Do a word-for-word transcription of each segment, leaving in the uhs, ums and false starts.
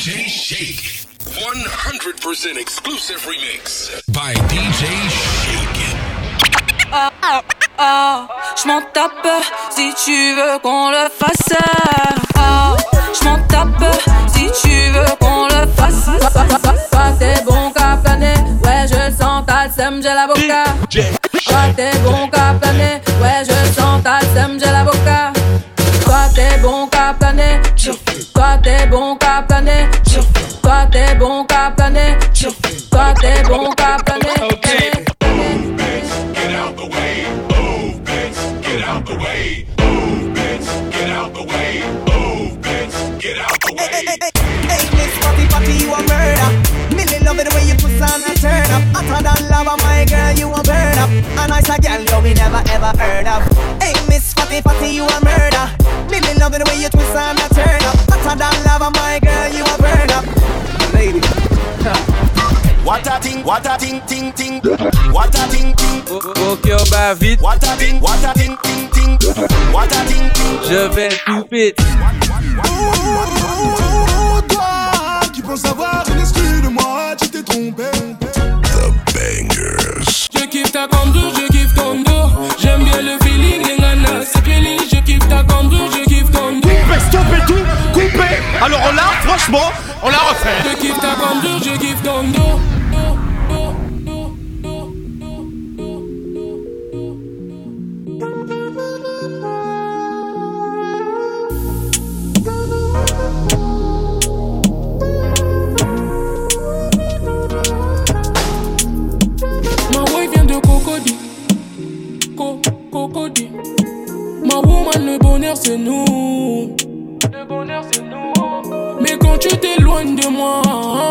J Shake. one hundred percent exclusive remix by D J Shake. Ah, ah, ah, je m'en tape si tu veux qu'on le fasse. Ah, je m'en tape si tu veux qu'on le fasse. Toi t'es bon qu'à planer, ouais je sens ta sème, j'ai la boca. Toi t'es bon qu'à planer, ouais je sens ta sème, j'ai la boca. Toi t'es bon qu'à planer, toi t'es bon qu'à planer, toi t'es bon qu'à planer, toi t'es bon qu'à planer. Move, bitch, get out the way. Move, bitch, get out the way. Move, bitch, get out the way. Move, bitch, get out the way. Hey, hey, hey, hey, Miss Fatty Fatty, you a murder. Millie love it the way you twist and you turn up. Hotter than lava, my girl, you a burn up. A nice a girl, yo, we never ever heard of. Hey, Miss Fatty Fatty, you a murder. Millie love it the way you twist and you turn up. Hotter than lava, my girl, you a burn up. Lady, what a thing, what a thing, ting, ting. What a thing, ting. Ok, on va vite. What a thing, what a thing, ting, ting. What a thing, ting. Je vais tout vite. Oh, toi qui penses avoir une excuse de moi, tu t'es trompé. The Bangers. Je kiffe ta cambrure, je kiffe ton dos. J'aime bien le feeling, les nanas, c'est pili. Je kiffe ta cambrure, je kiffe ton dos. Coupez, stoppez tout, coupez. Alors là, franchement, on la refait. Je kiffe ta cambrure, je kiffe ton dos. Cocody. Ma woman, le bonheur c'est nous. Le bonheur c'est nous. Mais quand tu t'éloignes de moi,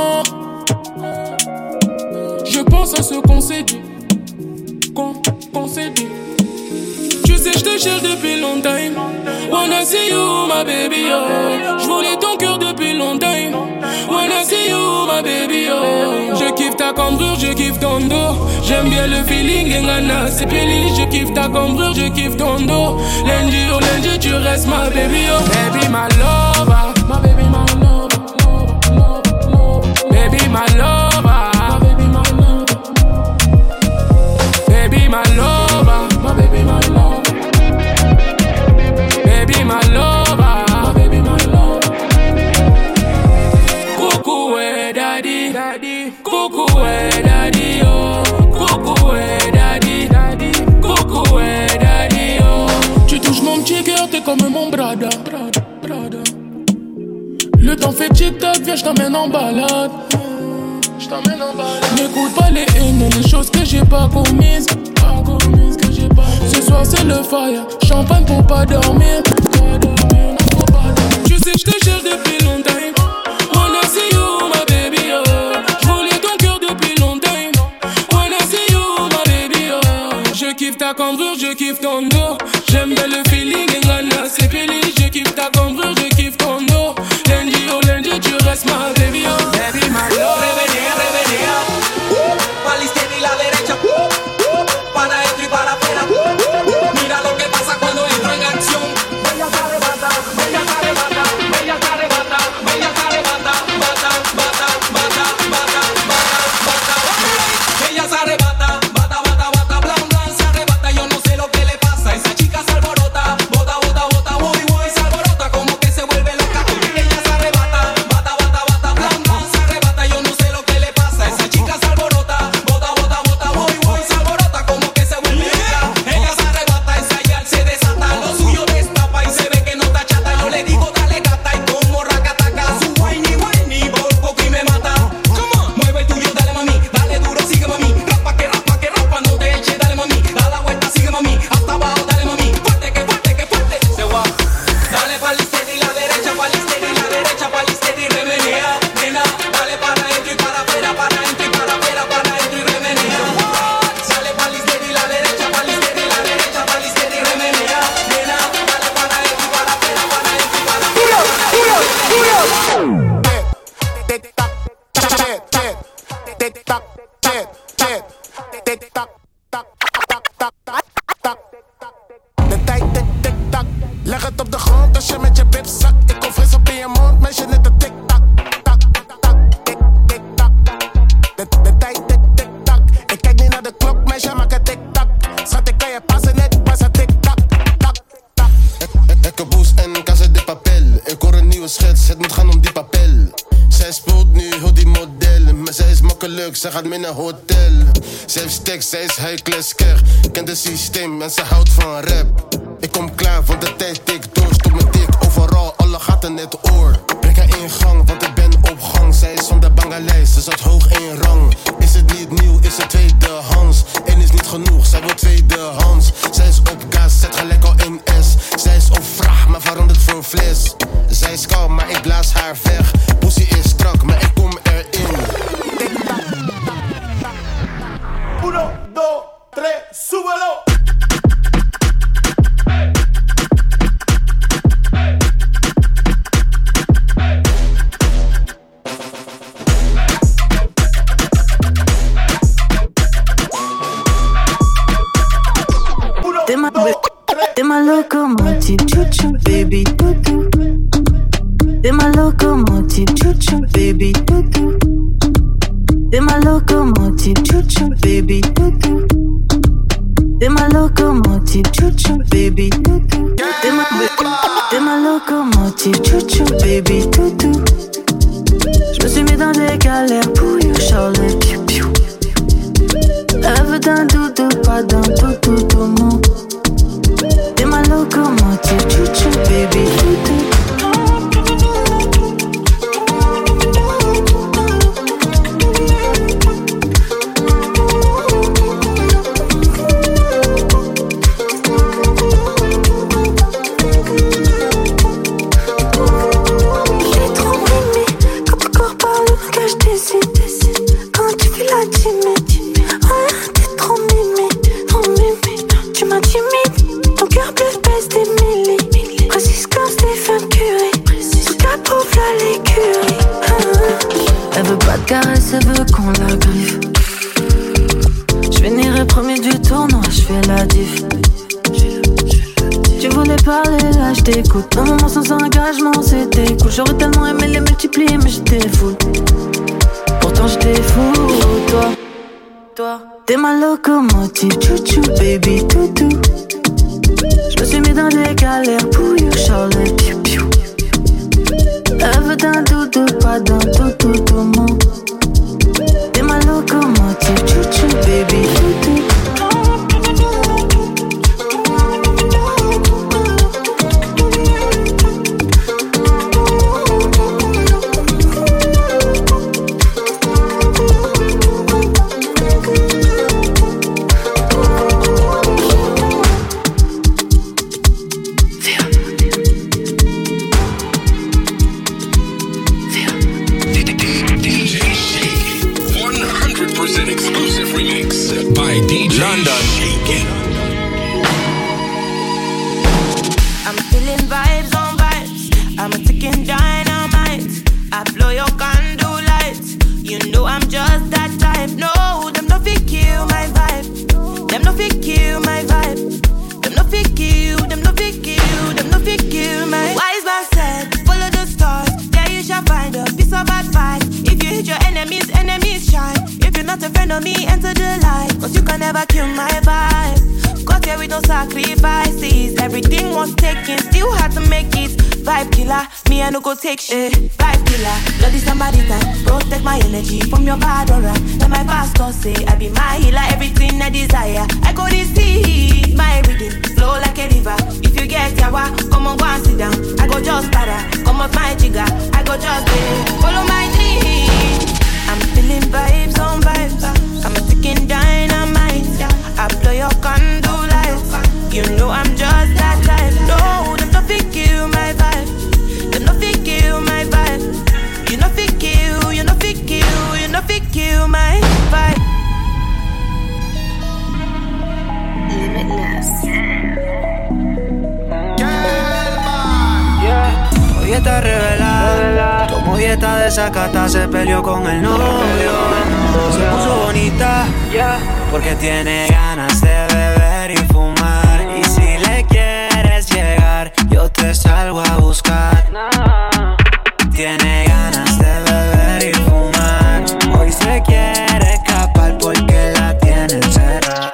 je pense à ce qu'on s'est dit. Qu'on, qu'on s'est dit. Tu sais, je te cherche depuis longtemps. Wanna see you, my baby, oh. Je voulais ton cœur depuis longtemps. Wanna see you, my baby, oh. Je kiffe ta cambrure, je kiffe ton dos. J'aime bien le feeling, les nanas, c'est pili. Je kiffe ta cambrure, je kiffe ton dos. Lundi au lundi, tu restes ma baby, oh. Baby, my lover. My baby, my lover. Baby, my lover. Baby, my lover. Baby, my lover. My baby, my lover. Baby, my lover. My baby, my lover. Coucou, ouais, daddy, daddy. Coucou, ouais, daddy, oh. Coucou, ouais, daddy, daddy. Coucou, ouais, daddy, oh. Tu touches mon petit cœur, t'es comme mon brada, brada, brada. Le temps fait tic-tac, viens, j't'emmène en balade. J't'emmène en balade. N'écoute pas les haines, les choses que j'ai pas commises. Pas commises, que j'ai pas commises. Ce soir c'est le fire, champagne pour pas dormir. Pas dormir, non, faut pas dormir. Tu sais, j'te cherche depuis longtemps. Wanna see you, my baby, oh. J'voulais ton cœur depuis longtemps. Wanna see you, my baby, oh. Je kiffe ta cambrure, je kiffe ton dos. J'aime bien le feeling, et nana, c'est pili. Je kiffe ta cambrure, je kiffe ton dos. Lundi au lundi, tu restes ma baby, oh. Baby, my love. revenía, revenía. Pa' la izquierda y la derecha. Para adentro y para afuera. Mira lo que pasa cuando entro en acción. Bella se arrebata, bella se arrebata, bella se arrebata, bella se arrebata, bata, bata, bata, bata, bata, bata. Ella se arrebata, bata, bata, bata, blan, blan, se arrebata. Yo no sé lo que le pasa, esa chica se alborota. Bota, bota, bota, voy, voy, se alborota, como que se vuelve loca. Ella se arrebata, bata, bata, bata, blan, blan, se arrebata. Yo no sé lo que le pasa, esa chica se alborota. Bota, bota, bota, voy, voy, se alborota, como que se vuelve loca. Ella se arrebata, ensayar se desata, lo suyo destapa y se ve que no está chata. Yo le digo dale gata y como racataca, su whiny whiny por poco y me mata. Come on, mueve el tuyo, dale mami, dale duro, sigue mami, rapa que rapa que rapa, no te eche, dale mami, da la vuelta, sigue mami, hasta abajo, dale mami, fuerte que fuerte que fuerte. Se va, dale pa' la izquierda y la derecha, pa' la izquierda y la derecha, pa' la izquierda y remenea, nena, dale para adentro y para afuera, para adentro y para afuera, para adentro y remenea. Dale pa' la izquierda y la derecha, pa' la izquierda y la derecha, pa' la izquierda y remenea, nena, dale para adentro y para afuera, para adentro y para afuera. Tic tac, tic tac, tic tac, tic tac, tac, tac, tac, tac. De tijd tic tic tac. Leg het op de grond als je met je bib zakt. Ik kom fris op in je mond, meisje net een tic tac, tac. geluk, ze gaat mee naar hotel. Ze heeft stacks, zij is high class keg. Kent het systeem en ze houdt van rap. Ik kom klaar, want de tijd tikt door. Stop me dik, overal, alle gaten net oor. Breng haar in gang, want ik ben op gang. Zij is van de Bangalees, ze zat hoog in rang. Is het niet nieuw, is het tweedehands. Eén is niet genoeg, zij wil tweedehands. Zij is op gas, zet gelijk al in S. Zij is op vraag, maar verandert voor fles. Zij is kalm, maar ik blaas haar weg. Pussy is strak, maar ik kom erin. Uno, dos, tres, súbelo. T'es ma, t'es ma locomotive, chou-chou, baby, toutou. T'es ma locomotive, chou-chou, baby, toutou. T'es ma locomotive, chou-chou, baby, toutou. T'es ma locomotive, chou-chou, baby, toutou. T'es ma, t'es ma locomotive, chou-chou, baby, toutou. Je me suis mis dans des galères pour you, Charlotte, piou, piou. Elle veut d'un doudou, pas d'un toutou, tout mon. T'es ma locomotive, chou-chou, baby, toutou. J'ai trop aimé quand ton corps parle, que je décide. Quand tu fais la timide, ouais, t'es trop mimi, trop mimi. Tu m'intimides, ton cœur bleu pèse des millis. Précise comme Stephen Curry, tout cas prouve la l'écurie. Elle veut pas de caresse, elle veut qu'on la griffe. J'finirai premier du tournoi, j'fais la diff. Tu voulais parler, là j't'écoute. Un moment sans engagement, c'était cool. J'aurais tellement aimé les multiplier, mais j'étais fou. Pourtant j'étais fou, toi, toi. T'es ma locomotive, chou-chou, baby, toutou. J'me suis mis dans des galères pour you, Charlotte, piou, piou. Elle veut d'un doudou, pas d'un toutou, tout mon. T'es ma locomotive, chou-chou, baby, toutou. London. I'm feeling vibes on vibes. I'm a ticking dynamite. I blow your candle lights. You know I'm just that type. No, them no fit kill my vibe. Them no fit kill my vibe. Them no fit kill. Them no fit kill. Them no fit kill my. Wise man said, follow the stars. There you shall find a piece of advice. If you hit your enemies, enemies shine. If you're not a friend of me, enter the light. Cause you can never kill my vibe. Got here with no sacrifices. Everything was taken, still had to make it. Vibe killer, me I no go take shit. Vibe killer, bloody somebody time. Protect my energy from your bad aura. Let my pastor say I be my healer. Everything I desire, I go this see. My rhythm, flow like a river. If you get yawa, come on go and sit down. I go just para, come off my jigger. I go just eh, follow my dream. I'm feeling vibes on vibes. I'm a ticking dynamite. I blow your candle lights. You know I'm just that type. No, them no fit kill my vibe. Them no fit kill my vibe. You no fit kill, you no fit kill, you no fit kill my vibe. Limitless. Hoy está revelada. Tomó dieta de sacata, se peleó con el novio. Se puso bonita porque tiene ganas de beber y fumar. Y si le quieres llegar, yo te salgo a buscar. Tiene ganas de beber y fumar. Hoy se quiere escapar porque la tiene encerrada.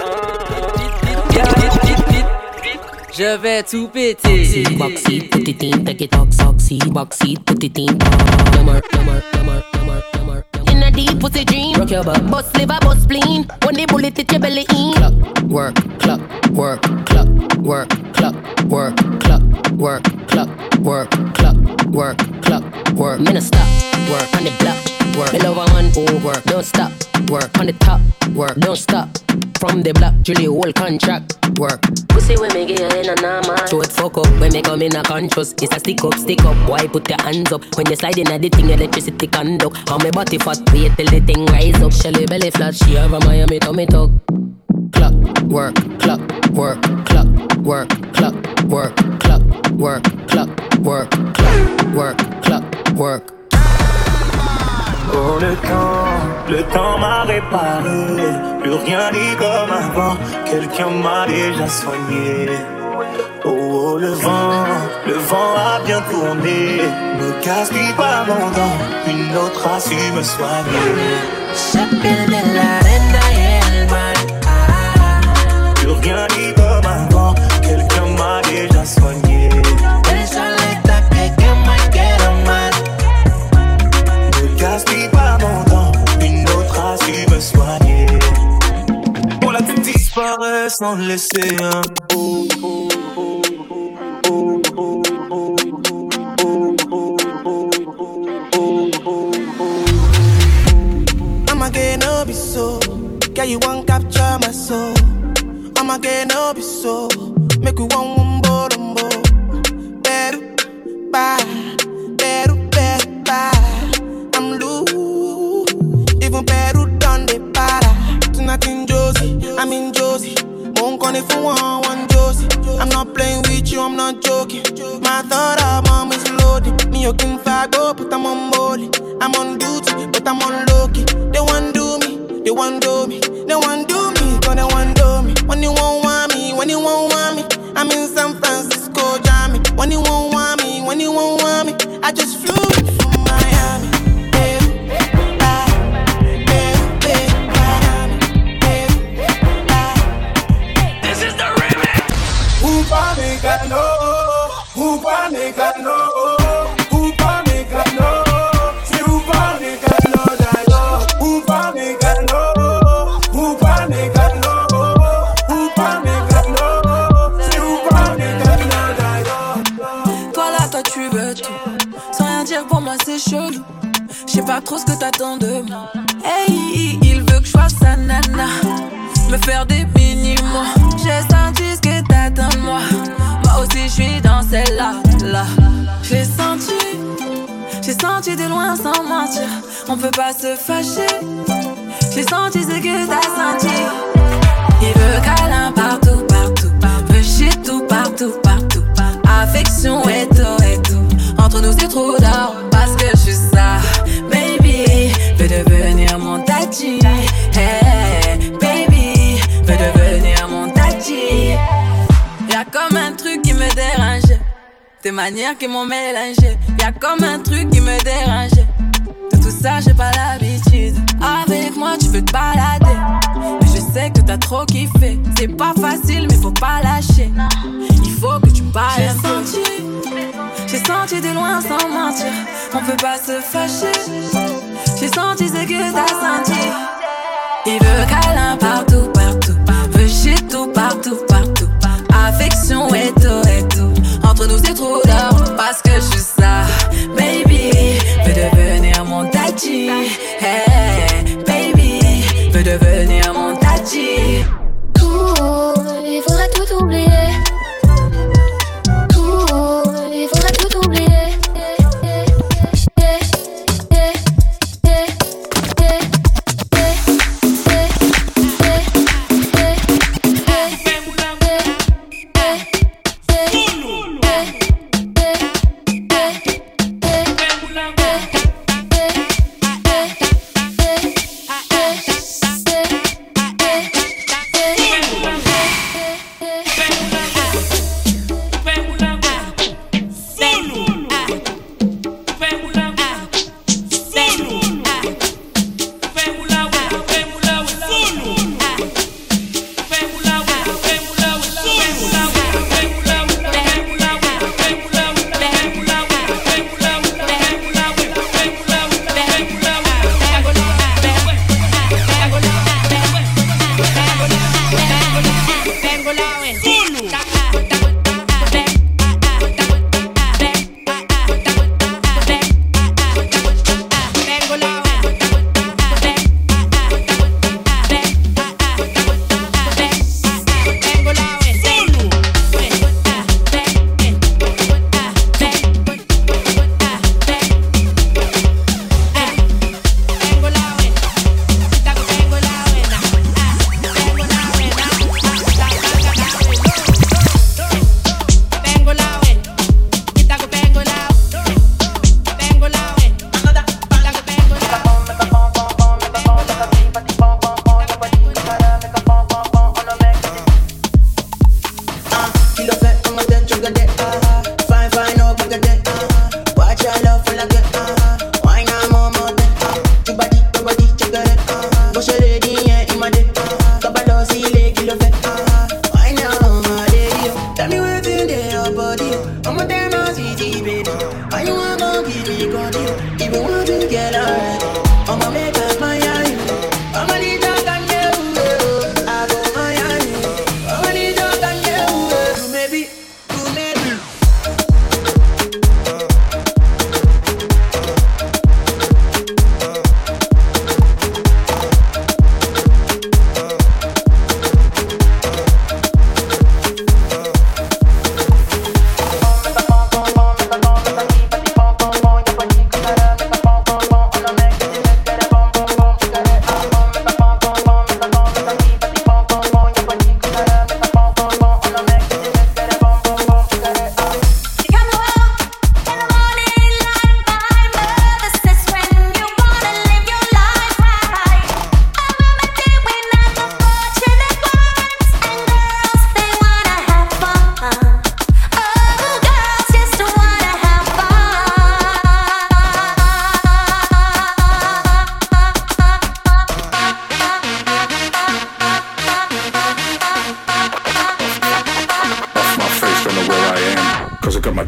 Je vais tout péter. Boxy, put it in, take it off, soxy. Boxy, put it in. Yummer, yummer, yummer, yummer, yummer. In a deep pussy dream. Rock your back. Bust liver, bust spleen. When the bullet hit your belly in. Clock, work, clock, work, clock, work, clock, work, clock, work, clock, work, clock, work, clock, work. Me no stop, work on the block, work. Me love one, oh work, don't stop, work on the top, work, don't stop. From the block, Julie whole contract, work. Pussy when me get in a normal. Show it fuck up when me come in a conscious. It's a stick up, stick up. Why put your hands up? When you slide in a the thing, electricity conduct. How me body fat, wait till the thing rise up. Shelly belly flat, she have a Miami tummy tuck. Clock, work, clock, work, clock, work, clock, work, clock, work, clock, work, clock, work, clock, work. Oh le temps, le temps m'a réparé. Plus rien n'est comme avant. Quelqu'un m'a déjà soigné. Oh, oh le vent, le vent a bien tourné. Ne gaspille pas mon temps. Une autre a su me soigner. J'appelle de l'arena et el mar. Plus rien n'est comme avant. Quelqu'un m'a déjà soigné. El soleta que que me quiero mal. Ne gaspille pas mon temps. Une autre a su me soigner. On l'a tout disparaît sans laisser un oh, oh, oh, oh, oh, oh, oh, oh, oh, oh. I'ma get no be so. Girl, you won't capture my soul. I'ma get no be so. Make you one one bo dum bo. Better bye, better better bye. I'm loose. Even better done the para. Tonight in Josie, I'm in Josie. Won't call if you want one Josie. I'm not playing with you, I'm not joking. My thought of mom is loaded. Me you can fago, but I'm on molly. I'm on duty, but I'm on low-key. They want do me, they want do me. They want do me, cause they want do me. When you won't want me, when you won't want me. I'm in San Francisco, Jammy. When you won't want me, when you won't want me. I just flew from Miami. Upa Mekano, Upa Mekano, Upa Mekano, c'est Upa Mekano, d'ailleurs. Upa Mekano, Upa Mekano, Upa Mekano, c'est Upa Mekano, d'ailleurs. Toi là, toi tu veux tout. Sans rien dire pour moi c'est chelou. J'sais pas trop ce que t'attends de moi. Hey, il veut que je fasse sa nana. Me faire des mini-mois. J'ai senti ce que t'attends de moi. Moi aussi je suis dans celle-là, là. J'ai senti, j'ai senti de loin sans mentir. On peut pas se fâcher. J'ai senti ce que t'as senti. Il veut câlin partout, partout. Veut shit tout, partout, partout. Affection et tout, et tout. Entre nous c'est trop d'or parce que je suis ça. Baby, veut devenir mon tati. Hey, baby, veut devenir mon tati. Y'a comme un truc qui me dérange. Tes manières qui m'ont mélangé. Y'a comme un truc qui me dérange. De tout ça j'ai pas l'habitude. Avec moi tu peux te balader. Mais je sais que t'as trop kiffé. C'est pas facile mais faut pas lâcher. Il faut que tu parles. J'ai senti, j'ai senti de loin sans mentir. On peut pas se fâcher. J'ai senti ce que t'as senti. Il veut câlin partout, partout. Veut shit tout, partout, partout. Affection et tout, et tout. Entre nous c'est trop d'or parce que je suis ça. Baby, veut devenir mon tati. Hey, baby, veut devenir mon tati. Tout, il faudrait tout oublier. Tout, il faudrait tout oublier.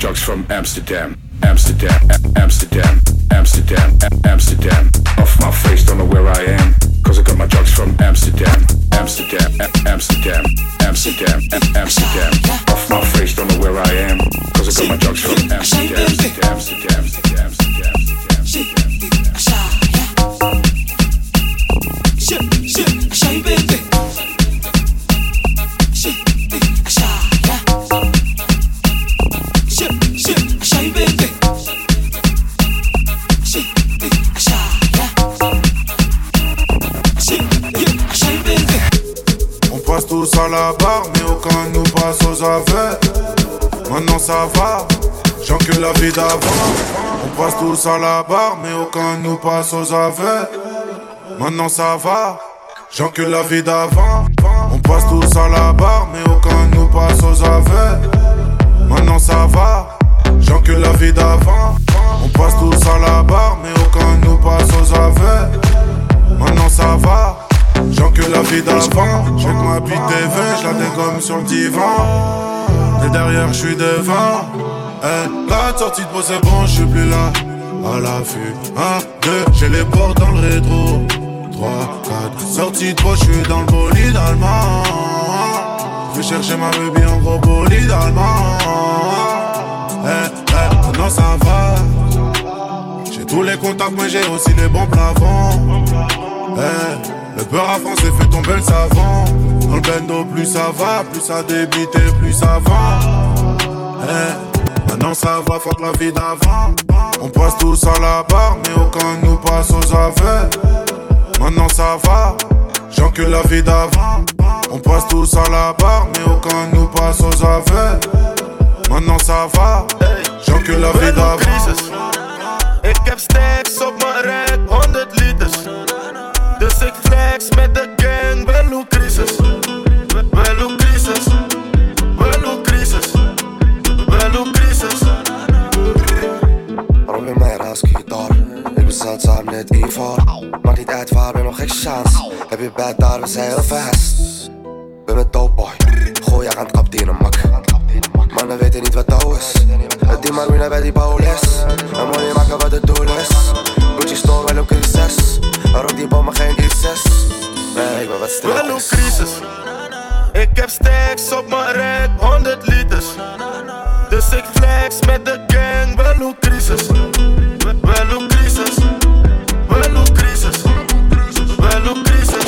drugs from Amsterdam, Amsterdam, Amsterdam, Amsterdam, Amsterdam. Off my face, don't know where I am, cause I got my drugs from Amsterdam, Amsterdam, Amsterdam, Amsterdam, Amsterdam. Off my face, don't know where I am, cause I got my drugs from Amsterdam, Amsterdam, Amsterdam, Amsterdam, Amsterdam. Tous à la barre, mais aucun nous passe aux affaires. Maintenant ça va, j'encule la vie d'avant. On passe tous à la barre, mais aucun nous passe aux affaires. Maintenant ça va, j'encule la vie d'avant. On passe tous à la barre, mais aucun nous passe aux affaires. Maintenant ça va, j'encule la vie d'avant. On passe tous à la barre, mais aucun nous passe aux affaires. Maintenant ça va, j'encule la vie d'avant. Check ma bite T V, j'la dégomme sur le divan. Et derrière j'suis devant. Eh, la sortie de peau c'est bon, j'suis plus là. À l'affût, un, deux, j'ai les portes dans le rétro. Trois, quatre, sortie de peau, j'suis dans le bolide allemand. J'vais chercher ma baby en gros bolide allemand. Eh, eh, maintenant ça va. J'ai tous les contacts mais j'ai aussi les bons plafonds. Eh, le beurre à français fait tomber le savon. Dans le bendo plus ça va, plus ça débite et plus ça va. Eh, maintenant ça va, fuck la vie d'avant. On passe tous à la barre, mais aucun nous passe aux affaires. Maintenant ça va, j'encule la vie d'avant. On passe tous à la barre, mais aucun nous passe aux affaires. Maintenant ça va, j'encule la vie d'avant. Ik heb stacks op mijn rek, honderd liters. Dus ik flex met de gang, wel hoe crisis. Wel hoe crisis. Wel hoe crisis. Wel hoe crisis. Waarom in mijn raas gitaar? Ik ben zeldzaam net Ivar. Maakt niet uit waar, ben nog geen chance. Heb je bed daar, we zijn heel fast. Ben met dope boy, gooi je aan het kap die in een mak. Mannen weten niet wat touw is. Het die marina bij die bouwles. En money maken wat het doel is. Gucci store wel ook crisis. Waarom die bommen geen I zes? Nee, ik ben wat stil. Wel hoe crisis. Ik heb stacks op mijn rek, honderd liters. Dus ik flex met de gang, wel hoe crisis. Wel hoe crisis. Wel hoe crisis. Wel hoe crisis.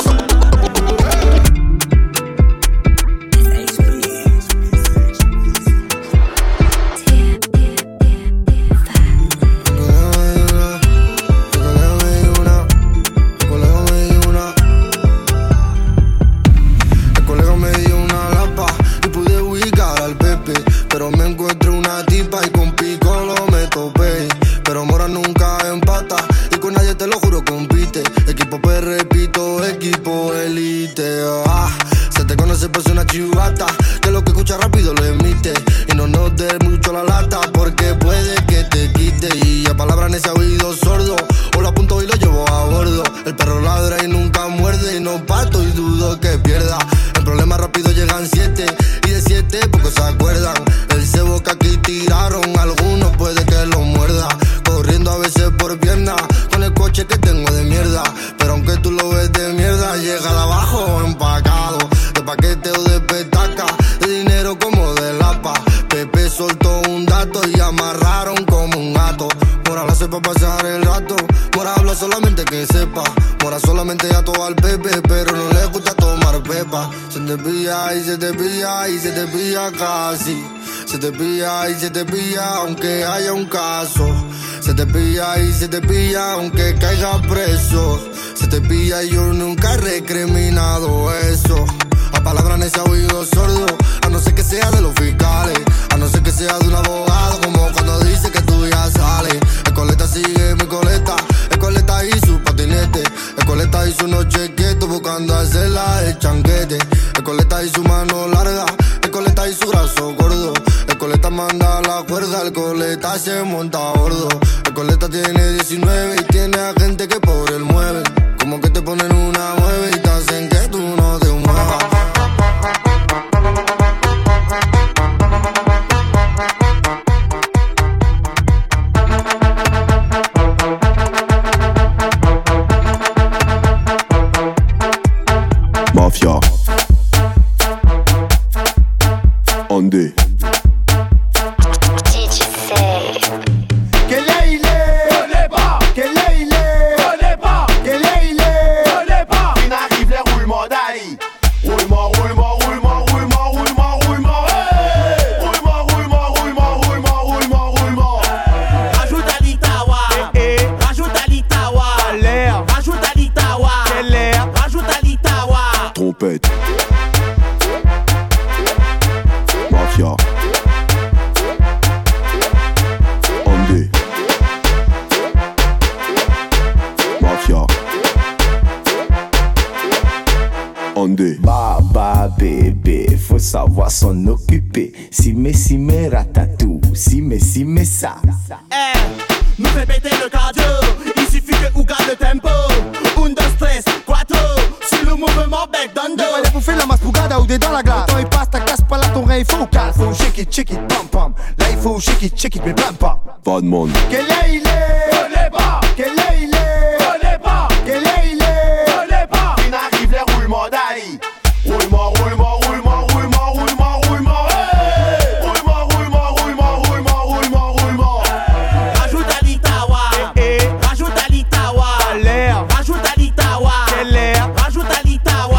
Que lo que escucha rápido lo emite. Y no nos dé mucho la lata, porque puede que te quite. Y a palabras en ese oído sordo, o lo apunto y lo llevo a bordo. El perro ladra y nunca muerde, y no pato y dudo que pierda. En problemas rápido llegan siete, y de siete pocos se acuerdan. El cebo que aquí tiraron, algunos puede que lo muerda. Corriendo a veces por pierna, con el coche que tengo de mierda. Pero aunque tú lo ves de mierda, llega de abajo empacado. De paquete o de petaca, de dinero como de lapa. Pepe soltó un dato y amarraron como un gato. Mora la hace pa' pasar el rato, Mora habla solamente que sepa. Mora solamente ya todo al Pepe, pero no le gusta tomar pepa. Se te pilla y se te pilla y se te pilla casi. Se te pilla y se te pilla aunque haya un caso. Se te pilla y se te pilla aunque caiga preso. Se te pilla y yo nunca he recriminado eso. A palabras en ese oído sordo, a no ser que sea de los fiscales, a no ser que sea de un abogado, como cuando dice que tú ya sales. El coleta sigue mi coleta, el coleta y su patinete, el coleta y su noche quieto buscando hacerla el changuete. El coleta y su mano larga, el coleta y su brazo gordo, el coleta manda la cuerda, el coleta se monta a bordo. El coleta tiene diecinueve y tiene a gente que por él mueve. Como que te ponen una mueve y te hacen que tú no te muevas. Koundé. Baba bébé, faut savoir s'en occuper. Si mais si mais ratatou, si mais si mais ça. Eh, nous fait péter le cardio. Il suffit que ou garde le tempo. Un, deux, tres, quattro. Sur le mouvement bec d'ando. Allez bouffer la masse bougada ou des dans la glace. Le temps il passe, ta casse pas là ton rein, il faut calme. Faut shake it, shake it, pam pam. Là il faut shake it, shake it, mais pam pam. Pas de monde. Quel est il est? Connais pas. Quel est il est? Connais pas. Quel est il est? Connais pas. Il arrive les roulements d'Ali. Roulement, roulement, roulement, roulement, roulement, roulement. Hey! Roulement, roulement, roulement, roulement, roulement, roulement. Rajoute à l'Itawa. Eh, eh. Rajoute à l'Itawa. L'air. Rajoute à l'Itawa. Quel air? Rajoute à l'Itawa.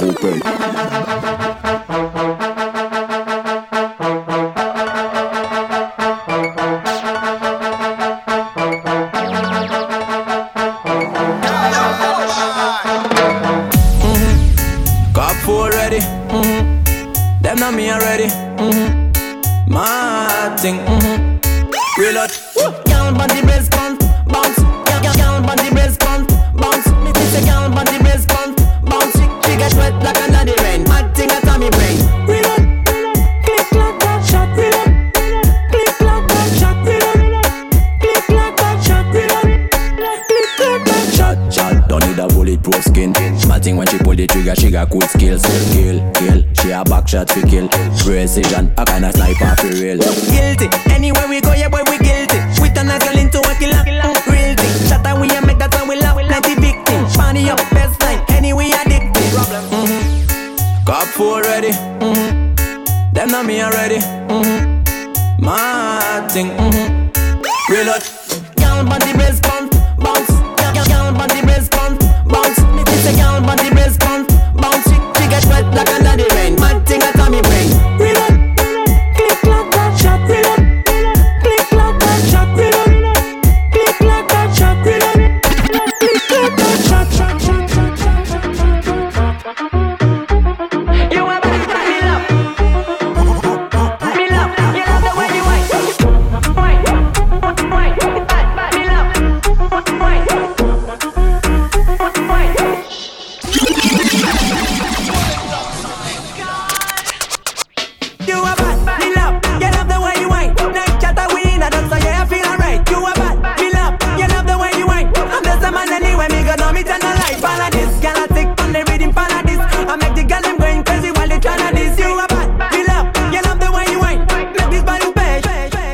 Them not me already. Mm-hmm. My thing. Mm-hmm. Reload. Count on the brace bounce, bounce. Count on the brace bounce, bounce. Me say count on the brace bounce, bounce. She, she get wet like another rain. My thing at me brain. Reload. Click like that shot. Reload. Click like that shot. Reload. Click like that shot. Reload. Click like that shot. Shot. Don't need a bulletproof skin. My thing when she pull the trigger, she got cool skills. Kill, kill. She a back shot for kill. Precision, a kind of sniper for real. Guilty, anywhere we go, yeah boy we guilty. We turn a girl into a killer. Mm, real thing, shot and we a make that one we love. Plenty victim, funny up best line. Anyway addicted. Mm-hmm. Cop four ready. Mm-hmm. Them not me already. Mm-hmm. My thing. Mm-hmm. Reload. Count on the brace bounce, bounce. Count on the brace bounce, bounce. Me say count on the brace bounce, bounce. She get wet like another rain. Mad thing at me brain. Reload. Click like that shot. Reload. Click like that shot. Reload. Click like that shot. Reload. Click like that shot. You a bad man, me love. Me love. You love the way you whine. Whine. Whine. Bad, bad. Me love. Whine. Whine. You a bad, me love, you love the way you whine. Night chatter we in a dance, so yeah I feel alright. You a bad, me love, you love the way you whine. I'm just a man anyway, me got no me turn on light. Follow this, girl I tick on the rhythm, follow this. I make the girl them going crazy while they tryna this. You a bad, me love, you love the way you whine. Make this body pay.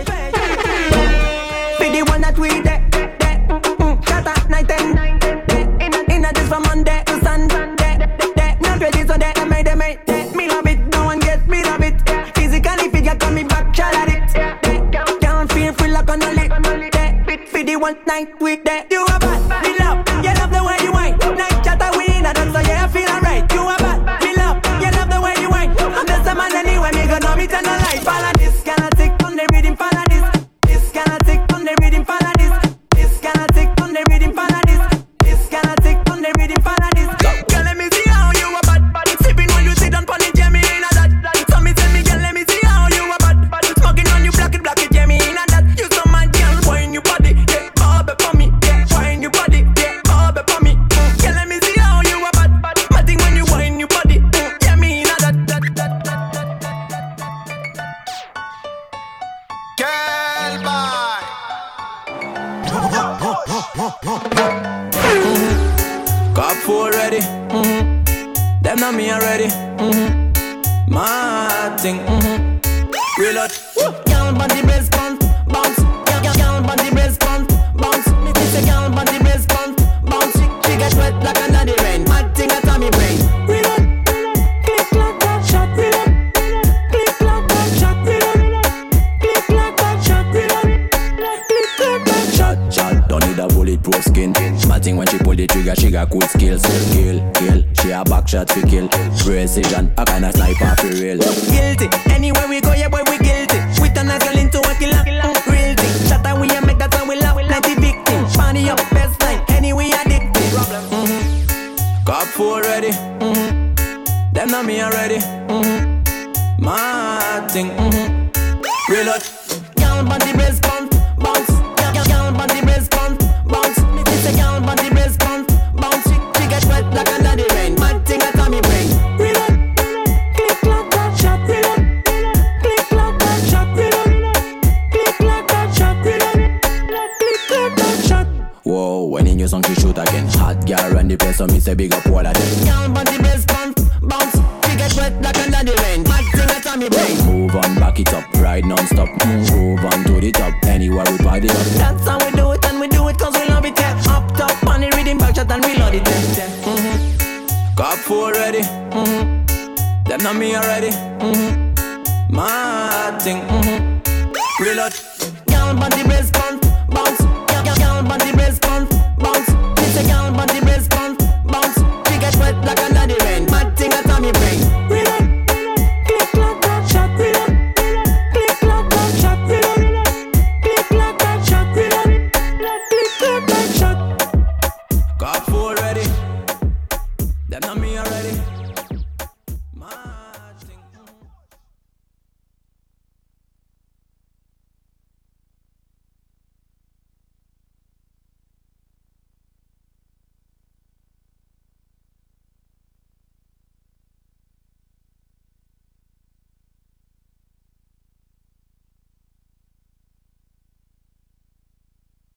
Be the one that we there, there, mm, chatter night and night. In a, in a this from Monday to Sunday, not ready so that I made them made. Me love it, no one gets me love it. Physically figure coming back, shot at it. Can't feel free like on a lip. For the one night with that. You a bad, me love, you love the way you whine. Night chatter we in a dance, so yeah I feel alright. You a bad, me love, you love the way you whine. I'm just a man anyway, me got no me turn on light. Follow this, can I tick on the rhythm, follow this. This can I tick on the rhythm, follow this. This can I tick on the rhythm, follow this. This can I tick on the rhythm, follow this. Girl, let me see how you a bad, bad. Sipping when you sit down pon it, yeah me in a that. So me tell me, girl, let me see how you a bad, bad. Smoking on you, black it, black it, yeah me in a that. You so mad, girl, wine your body, yeah, bob it for me, yeah, wine your body, yeah, bob it for me. Girl, let me see how you a bad, bad. My thing when you wine your body, yeah me in a that, that, that, that, that. Girl, bye. Mm-hmm. Cop four ready. Mm-hmm. Them not me already. Mm-hmm. My thing. Mm-hmm. Reload. Count on the brace bounce, bounce. Count on the brace bounce, bounce. Me say count on the brace bounce, bounce. She, she get wet like another rain. Mad thing at me brain. Reload. Click like that shot. Reload. Click like that shot. Reload. Click like that shot. Reload. Click like that shot. Shot. Don't need a bulletproof skin. My thing when she pull the trigger, she got cool skills. Kill, kill. She a back shot for kill. Precision, a kind of sniper for real. Guilty, anywhere we go, yeah boy we guilty. We turn a girl into a killer. Mm, real thing, shot and we a make that one we love. Plenty victim, funny up best line. Anyway addicted. Mm-hmm. Cop four ready. Mm-hmm. Them not me already. Mm-hmm. My thing. Mm-hmm. Reload. Count on the brace bounce, bounce. Count on the brace bounce, bounce. Me say count on the brace bounce, bounce. She, she get wet like another rain. Mad thing at me brain. the sun she shoot again. Hot girl run the place, so me say big up all of them. Girl, but the bass bounce, bounce. She get wet like under the rain. Mad thing that's on me brain. Move on, back it up, ride non-stop. Move on to the top, anywhere we party up. That's how we do it, and we do it cause we love it, yeah. Up top, on the rhythm, back shot and we love it, yeah. Mm-hmm. Cop four ready, mm-hmm. Them not me already, mm-hmm. Mad thing, mm-hmm. Reload. Girl, but the bass bounce,